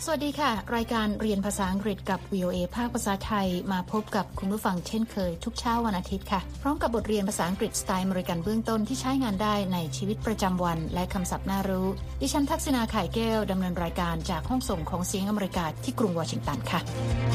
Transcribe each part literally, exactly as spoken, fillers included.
สวัสดีค่ะรายการเรียนภาษาอังกฤษกับ วี โอ เอ ภาคภาษาไทยมาพบกับคุณผู้ฟังเช่นเคยทุกเช้าวันอาทิตย์ค่ะพร้อมกับบทเรียนภาษาอังกฤษสไตล์อเมริกันเบื้องต้นที่ใช้งานได้ในชีวิตประจำวันและคำศัพท์น่ารู้ดิฉันทักษณาไข่แก้วดำเนินรายการจากห้องส่งของเสียงอเมริกาที่กรุงวอชิงตันค่ะ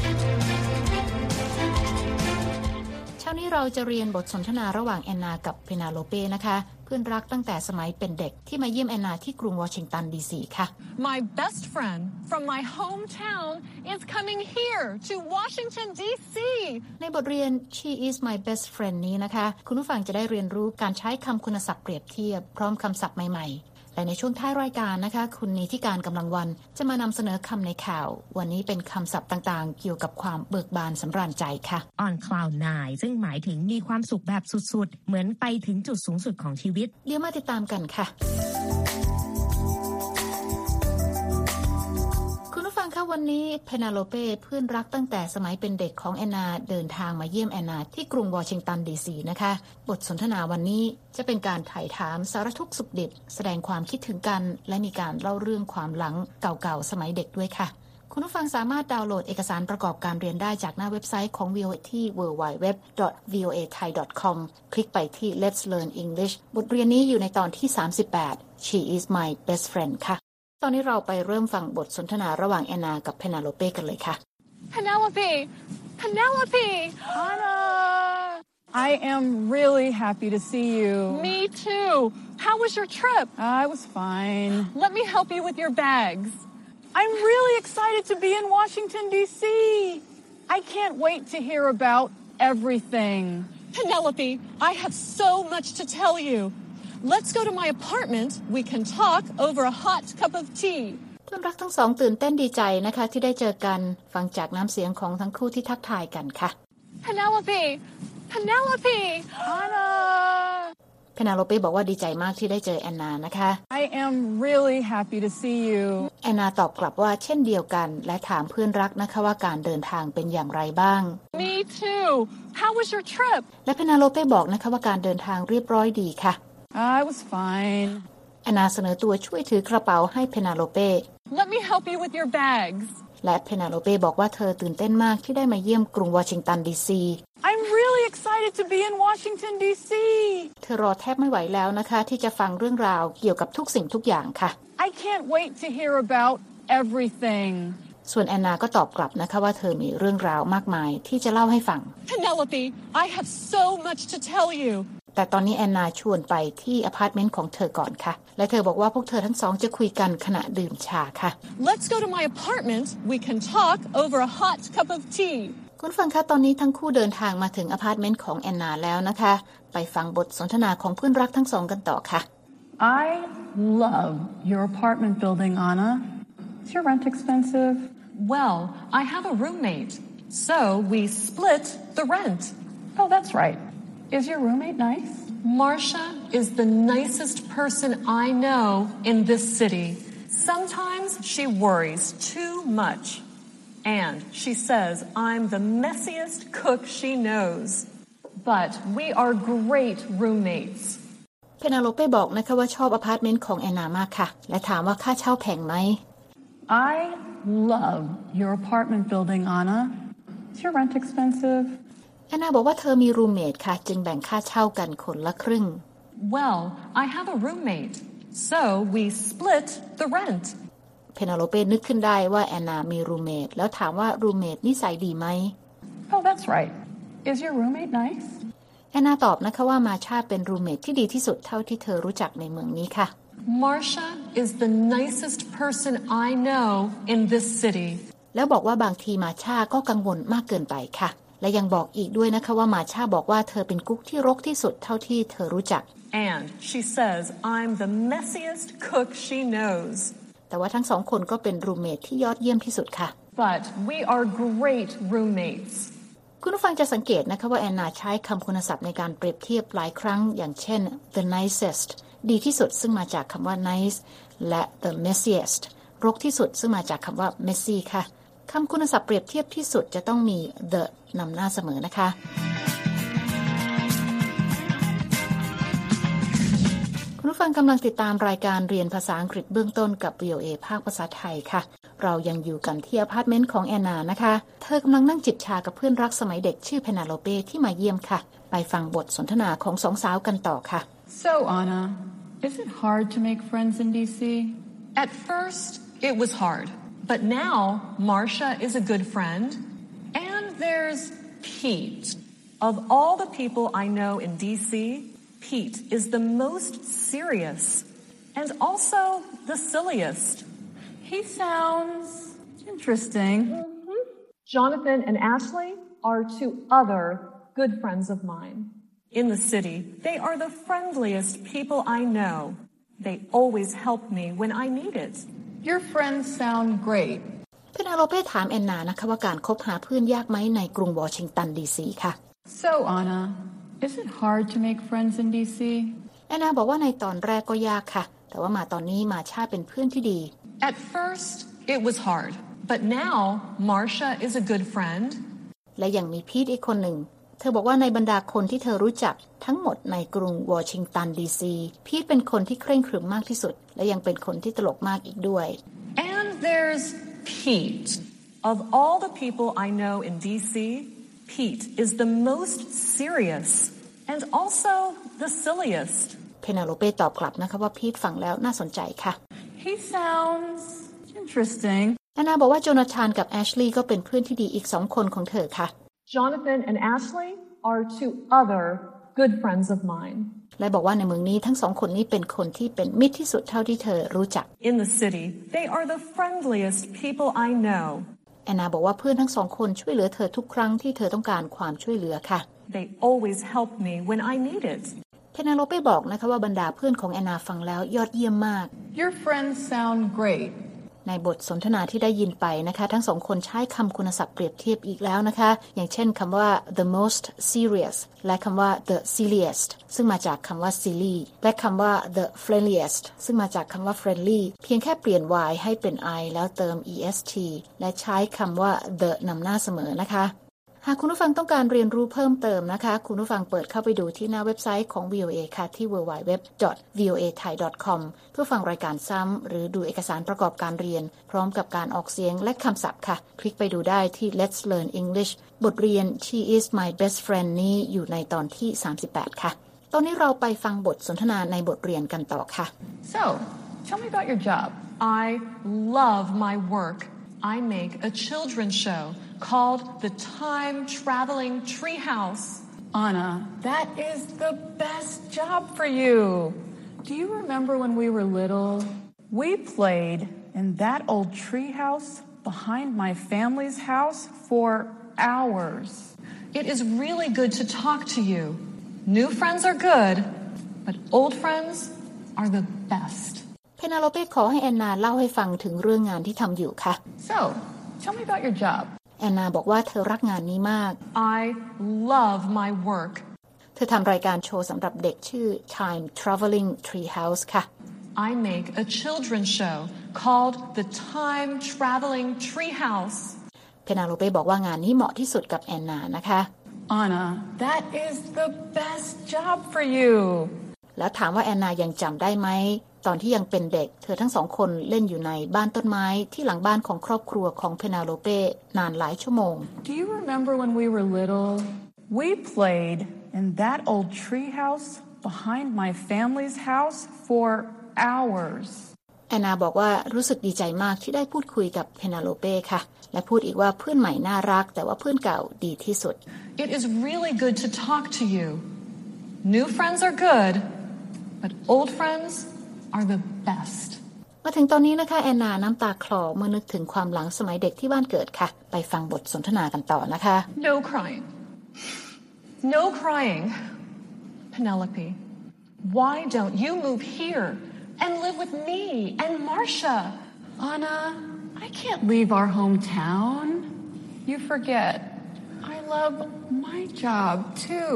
เช้านี้เราจะเรียนบทสนทนาระหว่างแอนนากับเพนาโลเป้นะคะเพื่อนรักตั้งแต่สมัยเป็นเด็กที่มาเยี่ยมแอนนาที่กรุงวอชิงตันดีซีค่ะ My best friend from my hometown is coming here to Washington ดี ซีในบทเรียน She is my best friend นี้นะคะคุณผู้ฟังจะได้เรียนรู้การใช้คำคุณศัพท์เปรียบเทียบพร้อมคำศัพท์ใหม่ๆและในช่วงท้ายรายการนะคะคุณนิติการกำลังวันจะมานำเสนอคำในข่าววันนี้เป็นคำศัพท์ต่างๆเกี่ยวกับความเบิกบานสำราญใจค่ะ On cloud nine ซึ่งหมายถึงมีความสุขแบบสุดๆเหมือนไปถึงจุดสูงสุดของชีวิตเดี๋ยวมาติดตามกันค่ะวันนี้เพนาโลเป้เพื่อนรักตั้งแต่สมัยเป็นเด็กของแอนนาเดินทางมาเยี่ยมแอนนาที่กรุงวอชิงตันดีซีนะคะบทสนทนาวันนี้จะเป็นการไถ่ถามสารทุกข์สุขดิบแสดงความคิดถึงกันและมีการเล่าเรื่องความหลังเก่าๆสมัยเด็กด้วยค่ะคุณผู้ฟังสามารถดาวน์โหลดเอกสารประกอบการเรียนได้จากหน้าเว็บไซต์ของ วี โอ เอ ที่ ดับเบิลยู ดับเบิลยู ดับเบิลยู ดอท วี โอ เอ ไทย ดอท คอม คลิกไปที่ Let's Learn English บทเรียนนี้อยู่ในตอนที่สามสิบแปด She is my best friend ค่ะตอนนี้เราไปเริ่มฟังบทสนทนาระหว่างแอนนากับเพนาโลเป้กันเลยค่ะ Penelope Penelope Anna I am really happy to see you Me too How was your trip? I was fine Let me help you with your bags I'm really excited to be in Washington ดี ซี I can't wait to hear about everything Penelope I have so much to tell you Let's go to my apartment. We can talk over a hot cup of tea. เพื่อนรักทั้งสองตื่นเต้นดีใจนะคะที่ได้เจอกันฟังจากน้ำเสียงของทั้งคู่ที่ทักทายกันค่ะ Penelope, Penelope, Anna. เพนาโลเป้บอกว่าดีใจมากที่ได้เจอแอนนานะคะ I am really happy to see you. แอนนาตอบกลับว่าเช่นเดียวกันและถามเพื่อนรักนะคะว่าการเดินทางเป็นอย่างไรบ้าง Me too. How was your trip? และเพนาโลเป้บอกนะคะว่าการเดินทางเรียบร้อยดีค่ะ I was fine. แอนนาเสนอตัวช่วยถือกระเป๋าให้เพนาโลเป้ Let me help you with your bags. และเพนาโลเป้บอกว่าเธอตื่นเต้นมากที่ได้มาเยี่ยมกรุงวอชิงตันดีซี I'm really excited to be in Washington ดี ซีเธอรอแทบไม่ไหวแล้วนะคะที่จะฟังเรื่องราวเกี่ยวกับทุกสิ่งทุกอย่างค่ะ I can't wait to hear about everything. ส่วนแอนนาก็ตอบกลับนะคะว่าเธอมีเรื่องราวมากมายที่จะเล่าให้ฟัง Penelope, I have so much to tell you. แต่ตอนนี้แอนนาชวนไปที่อพาร์ตเมนต์ของเธอก่อนค่ะและเธอบอกว่าพวกเธอทั้งสองจะคุยกันขณะดื่มชาค่ะ Let's go to my apartment. We can talk over a hot cup of tea. คุณฟังคะตอนนี้ทั้งคู่เดินทางมาถึงอพาร์ตเมนต์ของแอนนาแล้วนะคะไปฟังบทสนทนาของเพื่อนรักทั้งสองกันต่อค่ะ I love your apartment building, Anna. Is your rent expensive? Well, I have a roommate, so we split the rent. Oh, that's right.Is your roommate nice? Marcia is the nicest person I know in this city. Sometimes she worries too much. And she says I'm the messiest cook she knows. But we are great roommates. เพนาโลเป้บอกนะคะว่าชอบอพาร์ตเมนต์ของแอนนามากค่ะและถามว่าค่าเช่าแพงไหม I love your apartment building, Anna. Is your rent expensive? แอนนาบอกว่าเธอมีรูมเมทค่ะจึงแบ่งค่าเช่ากันคนละครึ่ง Well, I have a roommate, so we split the rent. เพนาโลเป้นึกขึ้นได้ว่าแอนนามีรูมเมทแล้วถามว่ารูมเมทนิสัยดีไหม Oh, that's right. Is your roommate nice? แอนนาตอบนะคะว่ามาชาเป็นรูมเมทที่ดีที่สุดเท่าที่เธอรู้จักในเมืองนี้ค่ะ Marcia is the nicest person I know in this city. แล้วบอกว่าบางทีมาชาก็กังวลมากเกินไปค่ะและยังบอกอีกด้วยนะคะว่ามาชาบอกว่าเธอเป็นกุ๊กที่รกที่สุดเท่าที่เธอรู้จัก And she says I'm the messiest cook she knows. แต่ว่าทั้งสองคนก็เป็นรูมเมทที่ยอดเยี่ยมที่สุดค่ะ But we are great roommates. คุณผู้ฟังจะสังเกตนะคะว่าแอนนาใช้คำคุณศัพท์ในการเปรียบเทียบหลายครั้งอย่างเช่น the nicest ดีที่สุดซึ่งมาจากคำว่า nice และ the messiest รกที่สุดซึ่งมาจากคำว่า messy ค่ะคำคุณศัพท์เปรียบเทียบที่สุดจะต้องมี the นำหน้าเสมอนะคะคุณผู้ฟังกำลังติดตามรายการเรียนภาษาอังกฤษเบื้องต้นกับ วี โอ เอ ภาคภาษาไทยค่ะเรายังอยู่กันที่อพาร์ตเมนต์ของแอนนานะคะเธอกำลังนั่งจิบชากับเพื่อนรักสมัยเด็กชื่อเพนาโลเป้ที่มาเยี่ยมค่ะไปฟังบทสนทนาของสองสาวกันต่อค่ะ So Anna, is it hard to make friends in D C? At first, it was hard. But now, Marcia is a good friend. And there's Pete. Of all the people I know in D C, Pete is the most serious and also the silliest. He sounds interesting. Mm-hmm. Jonathan and Ashley are two other good friends of mine. In the city, they are the friendliest people I know. They always help me when I need it. Your friends sound great. เพนาโลเป้ถามแอนนานะคะว่าการคบหาเพื่อนยากไหมในกรุงวอชิงตันดีซีค่ะ So Anna, is it hard to make friends in D C? แอนนาบอกว่าในตอนแรกก็ยากค่ะแต่ว่ามาตอนนี้มาชาเป็นเพื่อนที่ดี At first, it was hard. But now, Marcia is a good friend. และยังมีพีทอีกคนหนึ่งเธอบอกว่าในบรรดาคนที่เธอรู้จักทั้งหมดในกรุงวอชิงตันดีซีพีทเป็นคนที่เคร่งครึมมากที่สุดและยังเป็นคนที่ตลกมากอีกด้วย And there's Pete. Of all the people I know in D C, Pete is the most serious and also the silliest. เพนาโลเป้ตอบกลับนะคะว่าพีทฟังแล้วน่าสนใจค่ะ He sounds interesting. แอนนาบอกว่าโจนาธานกับแอชลีย์ก็เป็นเพื่อนที่ดีอีกสองคนของเธอค่ะ Jonathan and Ashley are two other good friends of mine. และบอกว่าในเมืองนี้ทั้งสองคนนี้เป็นคนที่เป็นมิตรที่สุดเท่าที่เธอรู้จัก In the city, they are the friendliest people I know. แอนนาบอกว่าเพื่อนทั้งสองคนช่วยเหลือเธอทุกครั้งที่เธอต้องการความช่วยเหลือค่ะ They always help me when I need it. เพนาโลเป้บอกนะคะว่าบรรดาเพื่อนของแอนนาฟังแล้วยอดเยี่ยมมาก Your friends sound great. ในบทสนทนาที่ได้ยินไปนะคะทั้งสองคนใช้คำคุณศัพท์เปรียบเทียบอีกแล้วนะคะอย่างเช่นคำว่า the most serious และคำว่า the silliest ซึ่งมาจากคำว่า silly และคำว่า the friendliest ซึ่งมาจากคำว่า friendly เพียงแค่เปลี่ยน y ให้เป็น i แล้วเติม est และใช้คำว่า the นำหน้าเสมอนะคะหากคุณผู้ฟังต้องการเรียนรู้เพิ่มเติมนะคะคุณผู้ฟังเปิดเข้าไปดูที่หน้าเว็บไซต์ของ วี โอ เอ ค่ะที่ ดับเบิลยู ดับเบิลยู ดับเบิลยู ดอท วี โอ เอ ไทย ดอท คอม เพื่อฟังรายการซ้ำหรือดูเอกสารประกอบการเรียนพร้อมกับการออกเสียงและคำศัพท์ค่ะคลิกไปดูได้ที่ Let's Learn English บทเรียน She is my best friend นี้อยู่ในตอนที่สามสิบแปดค่ะตอนนี้เราไปฟังบทสนทนาในบทเรียนกันต่อค่ะ So, tell me about your job. I love my work. I make a children's show called The Time Traveling Treehouse. Anna, that is the best job for you. Do you remember when we were little? We played in that old treehouse behind my family's house for hours. It is really good to talk to you. New friends are good, but old friends are the best. เพนาโลเป้ขอให้แอนนาเล่าให้ฟังถึงเรื่องงานที่ทำอยู่ค่ะ So, tell me about your job. แอนนาบอกว่าเธอรักงานนี้มาก I love my work. เธอทำรายการโชว์สำหรับเด็กชื่อ Time Traveling Treehouse ค่ะ I make a children's show called The Time Traveling Treehouse. เพนาโลเป้บอกว่างานนี้เหมาะที่สุดกับแอนนานะคะ Anna, that is the best job for you. แล้วถามว่าแอนนายังจำได้ไหมตอนที่ยังเป็นเด็กเธอทั้งสองคนเล่นอยู่ในบ้านต้นไม้ที่หลังบ้านของครอบครัวของเพนาโลเป้นานหลายชั่วโมง Do you remember when we were little? We played in that old treehouse behind my family's house for hours. แอนนาบอกว่ารู้สึกดีใจมากที่ได้พูดคุยกับเพนาโลเป้ค่ะและพูดอีกว่าเพื่อนใหม่น่ารักแต่ว่าเพื่อนเก่าดีที่สุด It is really good to talk to you. New friends are good, but old friends are the best. มาถึงตอนนี้นะคะแอนนาน้ำตาคลอเมื่อนึกถึงความหลังสมัยเด็กที่บ้านเกิดค่ะไปฟังบทสนทนากันต่อนะคะ No crying. No crying. Penelope, why don't you move here and live with me and Marcia? Anna, I can't leave our hometown. You forget. I love my job too.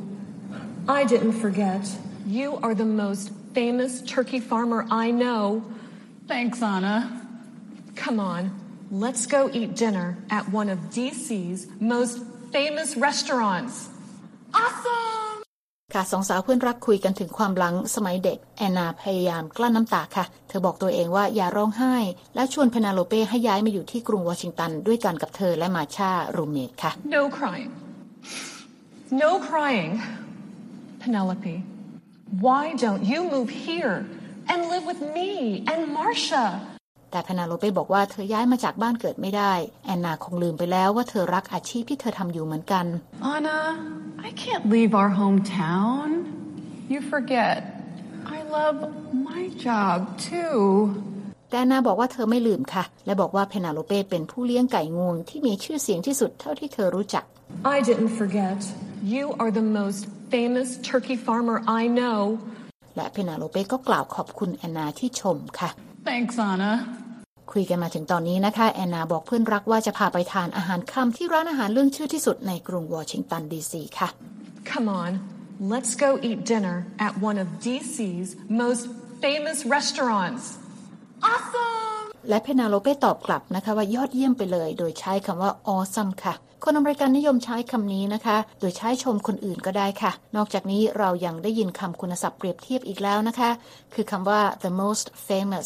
I didn't forget. You are the most famous turkey farmer I know. Thanks, Anna. Come on, let's go eat dinner at one of D C's most famous restaurants. Awesome! ค่ะสองสาวเพื่อนรักคุยกันถึงความหลังสมัยเด็กแอนนาพยายามกลั้นน้ำตาค่ะเธอบอกตัวเองว่าอย่าร้องไห้และชวนเพนาโลเป้ให้ย้ายมาอยู่ที่กรุงวอชิงตันด้วยกันกับเธอและมาชารูมเมทค่ะ No crying No crying Penelope Why don't you move here and live with me and Marcia แต่เพนาโลเป้บอกว่าเธอย้ายมาจากบ้านเกิดไม่ได้แอนนาคงลืมไปแล้วว่าเธอรักอาชีพที่เธอทำอยู่เหมือนกัน Anna I can't leave our hometown You forget I love my job too แต่แอนนาบอกว่าเธอไม่ลืมค่ะและบอกว่าเพนาโลเป้เป็นผู้เลี้ยงไก่งวงที่มีชื่อเสียงที่สุดเท่าที่เธอรู้จัก I didn't forget You are the most famous turkey farmer I know และเพนาโลเป้ก็กล่าวขอบคุณแอนนาที่ชมค่ะ Thanks, Anna. คุยกันมาถึงตอนนี้นะคะแอนนาบอกเพื่อนรักว่าจะพาไปทานอาหารค่ำที่ร้านอาหารเรื่องชื่อที่สุดในกรุงวอชิงตันดีซีค่ะ Come on, let's go eat dinner at one of ดี ซี's most famous restaurants. Awesome! และเพนาโลเป้ตอบกลับนะคะว่ายอดเยี่ยมไปเลยโดยใช้คำว่า awesome ค่ะคนอเมริกันนิยมใช้คำนี้นะคะโดยใช้ชมคนอื่นก็ได้ค่ะนอกจากนี้เรายังได้ยินคำคุณศัพท์เปรียบเทียบอีกแล้วนะคะคือคำว่า the most famous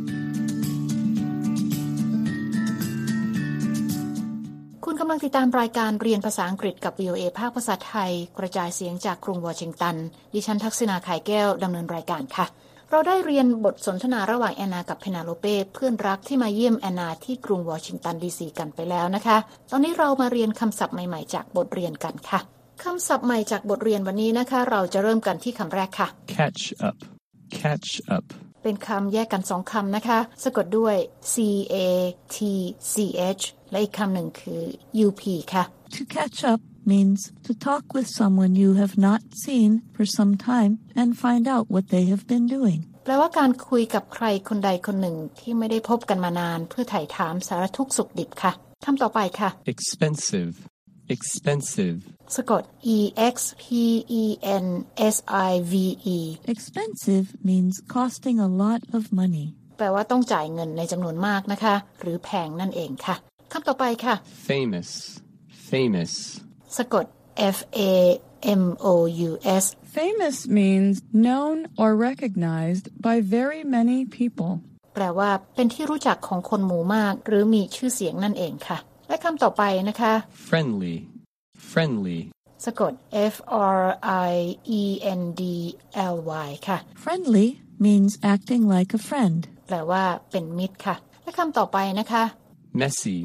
คุณกำลังติดตามรายการเรียนภาษาอังกฤษกับ วี โอ เอ ภาคภาษาไทยกระจายเสียงจากกรุงวอชิงตันดิฉันทักษิณาขายแก้วดำเนินรายการค่ะเราได้เรียนบทสนทนาระหว่างแอนนากับเพนาโลเป้เพื่อนรักที่มาเยี่ยมแอนนาที่กรุงวอชิงตันดีซีกันไปแล้วนะคะตอนนี้เรามาเรียนคำศัพท์ใหม่ๆจากบทเรียนกันค่ะคำศัพท์ใหม่จากบทเรียนวันนี้นะคะเราจะเริ่มกันที่คำแรกค่ะ catch up catch up เป็นคำแยกกันสองคำนะคะสะกดด้วย C A T C H และอีกคำหนึ่งคือ U P ค่ะ To catch up means to talk with someone you have not seen for some time and find out what they have been doing แปลว่าการคุยกับใครคนใดคนหนึ่งที่ไม่ได้พบกันมานานเพื่อไถ่ถามสารทุกข์สุขดิบค่ะคำต่อไปค่ะ expensive expensive สะกด E X P E N S I V E Expensive means costing a lot of money แปลว่าต้องจ่ายเงินในจำนวนมากนะคะหรือแพงนั่นเองค่ะคำต่อไปค่ะ famous famous สะกด F A M O U S Famous means known or recognized by very many people แปลว่าเป็นที่รู้จักของคนหมู่มากหรือมีชื่อเสียงนั่นเองค่ะและคำต่อไปนะคะ friendly friendly สะกด F R I E N D L Y ค่ะ Friendly means acting like a friend แปลว่าเป็นมิตรค่ะและคำต่อไปนะคะ messy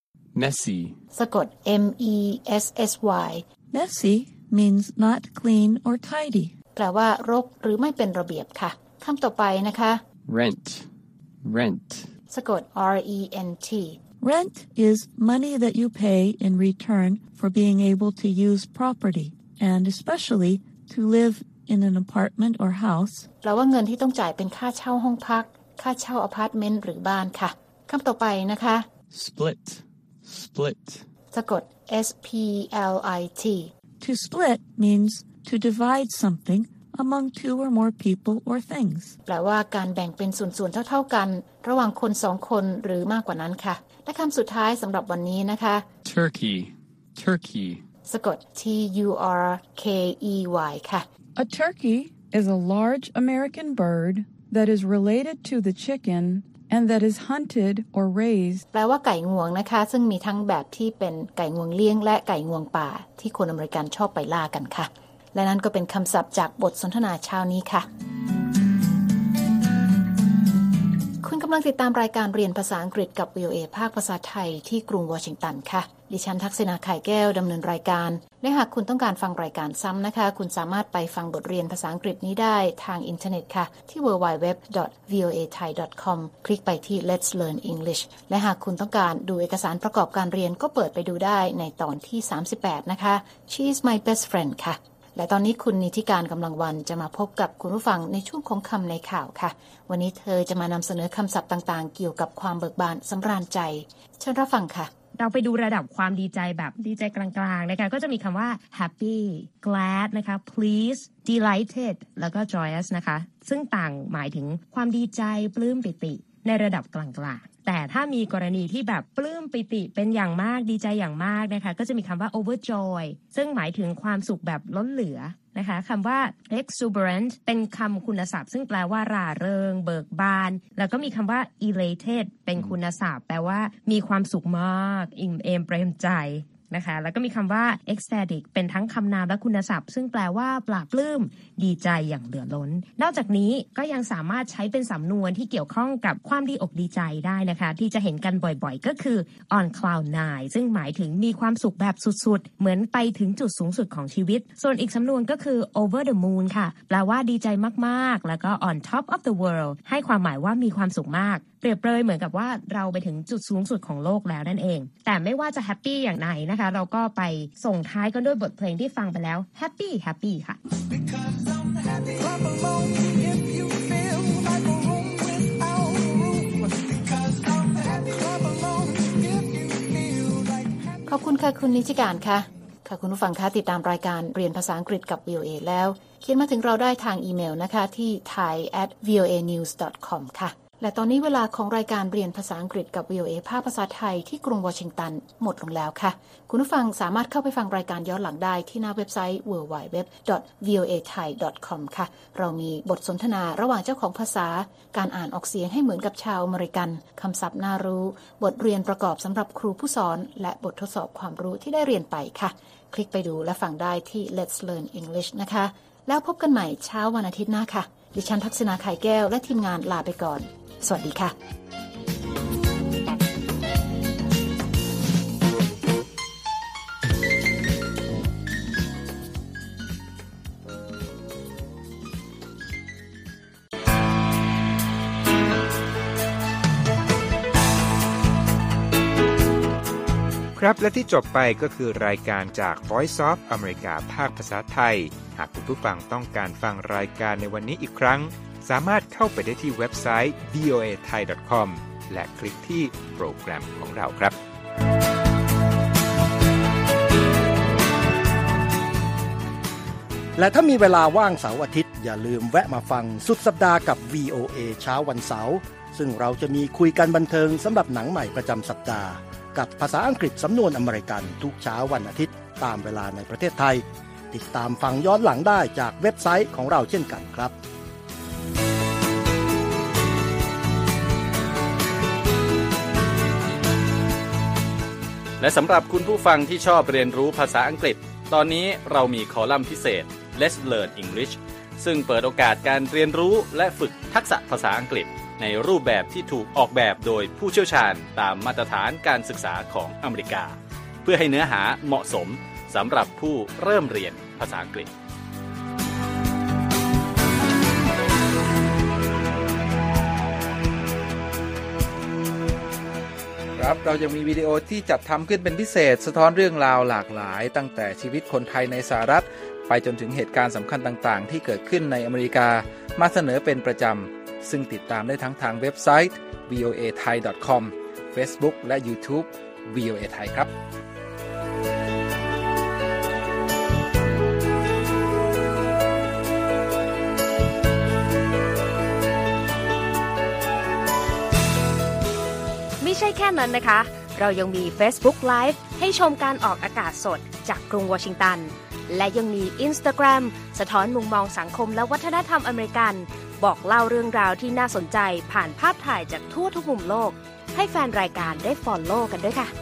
messy สะกด M E S S Y Messy means not clean or tidy แปลว่ารกหรือไม่เป็นระเบียบค่ะคำต่อไปนะคะ rent rent สะกด R E N T Rent is money that you pay in return for being able to use property and especially to live in an apartment or house แปลว่าเงินที่ต้องจ่ายเป็นค่าเช่าห้องพักค่าเช่าอพาร์ตเมนต์หรือบ้านค่ะคำต่อไปนะคะ split split สะกด S P L I T To split means to divide something among two or more people or things แปลว่าการแบ่งเป็นส่วนๆเท่าๆกันระหว่างคนสองคนหรือมากกว่านั้นค่ะและคำสุดท้ายสำหรับวันนี้นะคะ turkey turkey สะกด T U R K E Y ค่ะ A turkey is a large American bird that is related to the chicken and that is hunted or raised แปลว่าไก่งวงนะคะซึ่งมีทั้งแบบที่เป็นไก่งวงเลี้ยงและไก่งวงป่าที่คนอเมริกันชอบไปล่ากันค่ะและนั่นก็เป็นคำศัพท์จากบทสนทนาเช้านี้ค่ะคุณกำลังติดตามรายการเรียนภาษาอังกฤษกับ วี โอ เอ ภาคภาษาไทยที่กรุงวอชิงตันค่ะดิฉันทักษิณาไข่แก้วดำเนินรายการและหากคุณต้องการฟังรายการซ้ำนะคะคุณสามารถไปฟังบทเรียนภาษาอังกฤษนี้ได้ทางอินเทอร์เน็ตค่ะที่ ดับเบิลยู ดับเบิลยู ดับเบิลยู ดอท วี โอ เอ ไทย ดอท คอม คลิกไปที่ Let's Learn English และหากคุณต้องการดูเอกสารประกอบการเรียนก็เปิดไปดูได้ในตอนที่สามสิบแปดนะคะ She is my best friend ค่ะและตอนนี้คุณนิติการกำลังวันจะมาพบกับคุณผู้ฟังในช่วงของคำในข่าวค่ะวันนี้เธอจะมานำเสนอคำศัพท์ต่างๆเกี่ยวกับความเบิกบานสำราญใจเชิญรับฟังค่ะเราไปดูระดับความดีใจแบบดีใจกลางๆนะคะก็จะมีคำว่า happy glad นะคะ pleased delighted แล้วก็ joyous นะคะซึ่งต่างหมายถึงความดีใจปลื้มปิติในระดับกลางๆแต่ถ้ามีกรณีที่แบบปลื้มปิติเป็นอย่างมากดีใจอย่างมากนะคะก็จะมีคำว่า overjoy ซึ่งหมายถึงความสุขแบบล้นเหลือนะคะคำว่า exuberant เป็นคำคุณศัพท์ซึ่งแปลว่าร่าเริงเบิกบานแล้วก็มีคำว่า elated เป็นคุณศัพท์แปลว่ามีความสุขมากอิ่มเอมเปรมใจนะคะแล้วก็มีคำว่า ecstatic เป็นทั้งคำนามและคุณศัพท์ซึ่งแปลว่าปลาปลื้มดีใจอย่างเหลือล้นนอกจากนี้ก็ยังสามารถใช้เป็นสำนวนที่เกี่ยวข้องกับความดีอกดีใจได้นะคะที่จะเห็นกันบ่อยๆก็คือ on cloud nine ซึ่งหมายถึงมีความสุขแบบสุดๆเหมือนไปถึงจุดสูงสุดของชีวิตส่วนอีกสำนวนก็คือ over the moon ค่ะแปลว่าดีใจมากๆแล้วก็ on top of the world ให้ความหมายว่ามีความสุขมากเปรียบเปรยเหมือนกับว่าเราไปถึงจุดสูงสุดของโลกแล้วนั่นเองแต่ไม่ว่าจะแฮปปี้อย่างไหนนะคะเราก็ไปส่งท้ายกันด้วยบทเพลงที่ฟังไปแล้วแฮปปี้แฮปปี้ค่ะขอบคุณค่ะคุณนิติการค่ะค่ะคุณผู้ฟังคะติดตามรายการเรียนภาษาอังกฤษกับ วี โอ เอ แล้วเขียนมาถึงเราได้ทางอีเมลนะคะที่ ไทย แอท วี โอ เอ นิวส์ ดอท คอม ค่ะและตอนนี้เวลาของรายการเรียนภาษาอังกฤษกับ วี โอ เอ ภาคภาษาไทยที่กรุงวอชิงตันหมดลงแล้วค่ะคุณผู้ฟังสามารถเข้าไปฟังรายการย้อนหลังได้ที่หน้าเว็บไซต์ ดับเบิลยู ดับเบิลยู ดับเบิลยู ดอท วี โอ เอ ไทย ดอท คอม ค่ะเรามีบทสนทนาระหว่างเจ้าของภาษาการอ่านออกเสียงให้เหมือนกับชาวอเมริกันคำศัพท์น่ารู้บทเรียนประกอบสำหรับครูผู้สอนและบททดสอบความรู้ที่ได้เรียนไปค่ะคลิกไปดูและฟังได้ที่ Let's Learn English นะคะแล้วพบกันใหม่เช้าวันอาทิตย์หน้าค่ะดิฉันทักษณาไข่แก้วและทีมงานลาไปก่อนสวัสดีค่ะครับและที่จบไปก็คือรายการจาก Voice of America ภาคภาษาไทยหากคุณผู้ฟังต้องการฟังรายการในวันนี้อีกครั้งสามารถเข้าไปได้ที่เว็บไซต์ วี โอ เอ ไทย ดอท คอม และคลิกที่โปรแกรมของเราครับและถ้ามีเวลาว่างเสาร์อาทิตย์อย่าลืมแวะมาฟังสุดสัปดาห์กับ วี โอ เอ เช้าวันเสาร์ซึ่งเราจะมีคุยกันบันเทิงสำหรับหนังใหม่ประจำสัปดาห์กับภาษาอังกฤษสำนวนอเมริกันทุกเช้าวันอาทิตย์ตามเวลาในประเทศไทยติดตามฟังย้อนหลังได้จากเว็บไซต์ของเราเช่นกันครับและสำหรับคุณผู้ฟังที่ชอบเรียนรู้ภาษาอังกฤษตอนนี้เรามีคอลัมน์พิเศษ Let's Learn English ซึ่งเปิดโอกาสการเรียนรู้และฝึกทักษะภาษาอังกฤษในรูปแบบที่ถูกออกแบบโดยผู้เชี่ยวชาญตามมาตรฐานการศึกษาของอเมริกาเพื่อให้เนื้อหาเหมาะสมสำหรับผู้เริ่มเรียนภาษาอังกฤษครับเรายังมีวิดีโอที่จัดทำขึ้นเป็นพิเศษสะท้อนเรื่องราวหลากหลายตั้งแต่ชีวิตคนไทยในสหรัฐไปจนถึงเหตุการณ์สำคัญต่างๆที่เกิดขึ้นในอเมริกามาเสนอเป็นประจำซึ่งติดตามได้ทั้งทางเว็บไซต์ วี โอ เอ ไทย ดอท คอม Facebook และ YouTube วี โอ เอ ไทยครับไม่ใช่แค่นั้นนะคะเรายังมี Facebook Live ให้ชมการออกอากาศสดจากกรุงวอชิงตันและยังมี Instagram สะท้อนมุมมองสังคมและวัฒนธรรมอเมริกันบอกเล่าเรื่องราวที่น่าสนใจผ่านภาพถ่ายจากทั่วทุกมุมโลกให้แฟนรายการได้ follow กันด้วยค่ะ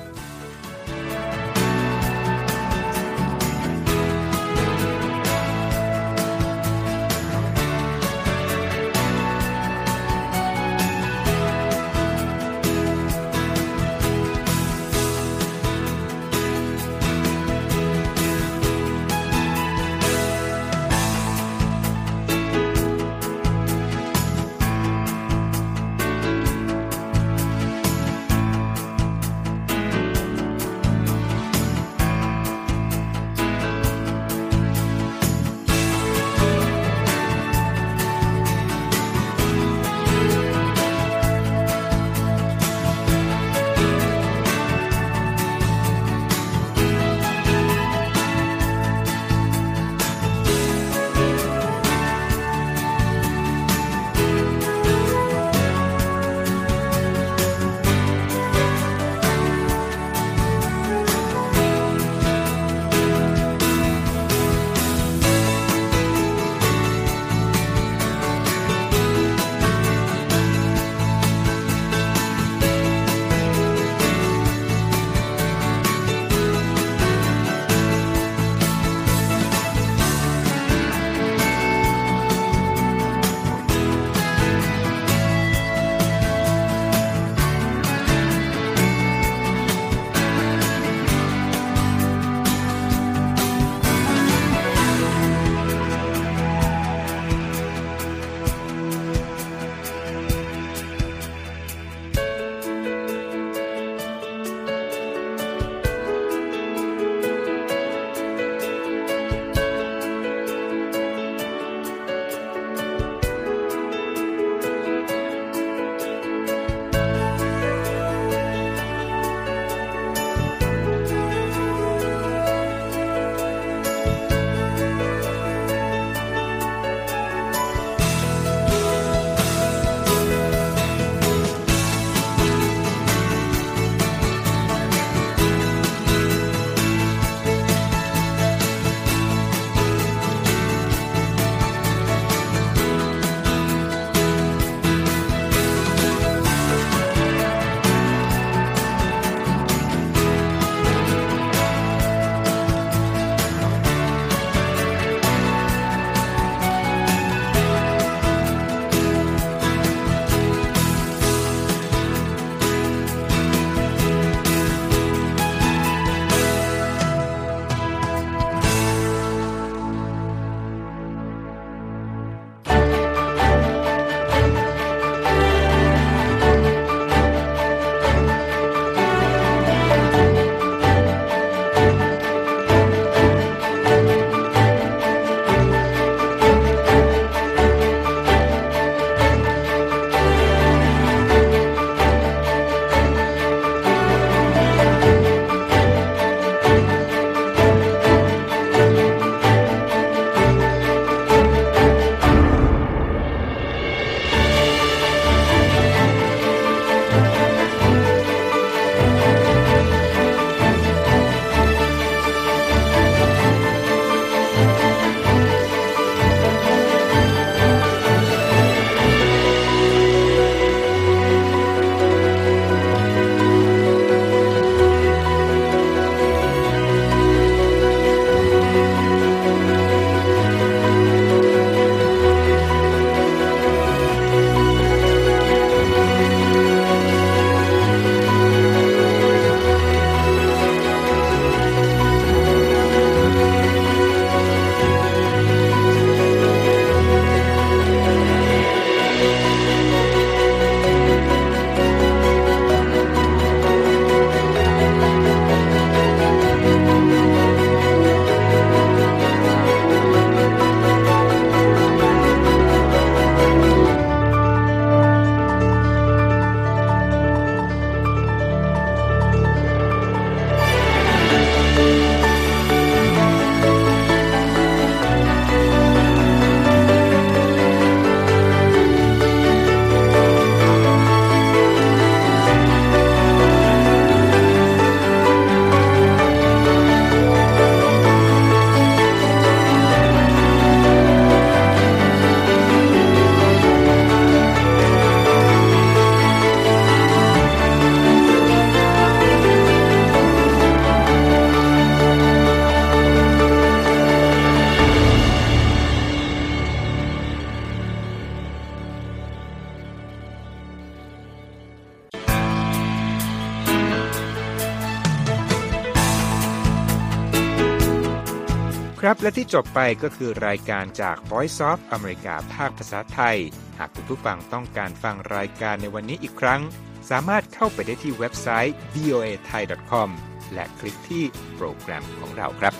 ครับและที่จบไปก็คือรายการจาก Voice of America ภาคภาษาไทยหากคุณผู้ฟังต้องการฟังรายการในวันนี้อีกครั้งสามารถเข้าไปได้ที่เว็บไซต์ วี โอ เอ ไทย ดอท คอม และคลิกที่โปรแกรมของเราครับ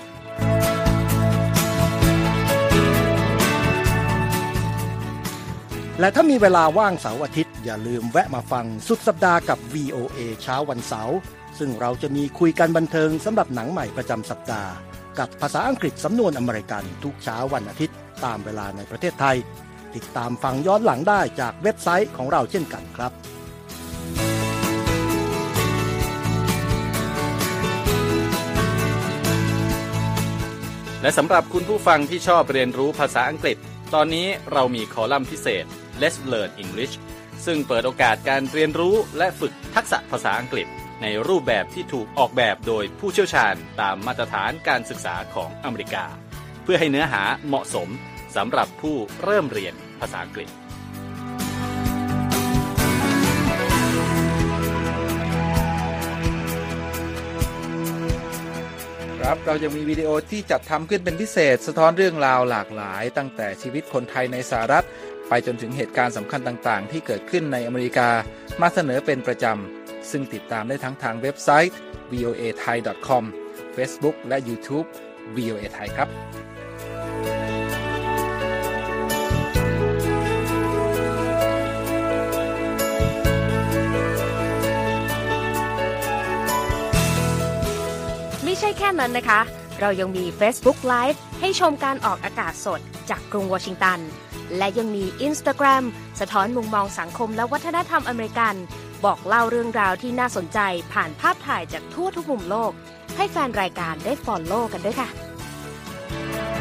และถ้ามีเวลาว่างเสาร์อาทิตย์อย่าลืมแวะมาฟังสุดสัปดาห์กับ วี โอ เอ เช้าวันเสาร์ซึ่งเราจะมีคุยกันบันเทิงสำหรับหนังใหม่ประจำสัปดาห์กับภาษาอังกฤษสำนวนอเมริกันทุกเช้าวันอาทิตย์ตามเวลาในประเทศไทยติดตามฟังย้อนหลังได้จากเว็บไซต์ของเราเช่นกันครับและสำหรับคุณผู้ฟังที่ชอบเรียนรู้ภาษาอังกฤษตอนนี้เรามีคอลัมน์พิเศษ Let's Learn English ซึ่งเปิดโอกาสการเรียนรู้และฝึกทักษะภาษาอังกฤษในรูปแบบที่ถูกออกแบบโดยผู้เชี่ยวชาญตามมาตรฐานการศึกษาของอเมริกาเพื่อให้เนื้อหาเหมาะสมสำหรับผู้เริ่มเรียนภาษาอังกฤษครับเรายังมีวิดีโอที่จัดทำขึ้นเป็นพิเศษสะท้อนเรื่องราวหลากหลายตั้งแต่ชีวิตคนไทยในสหรัฐไปจนถึงเหตุการณ์สำคัญต่างๆที่เกิดขึ้นในอเมริกามาเสนอเป็นประจำซึ่งติดตามได้ทั้งทางเว็บไซต์ วี โอ เอ ไทย ดอท คอม Facebook และ YouTube วี โอ เอ ไทยครับไม่ใช่แค่นั้นนะคะเรายังมี Facebook Live ให้ชมการออกอากาศสดจากกรุงวอชิงตันและยังมี Instagram สะท้อนมุมมองสังคมและวัฒนธรรมอเมริกันบอกเล่าเรื่องราวที่น่าสนใจผ่านภาพถ่ายจากทั่วทุกมุมโลกให้แฟนรายการได้ follow กันด้วยค่ะ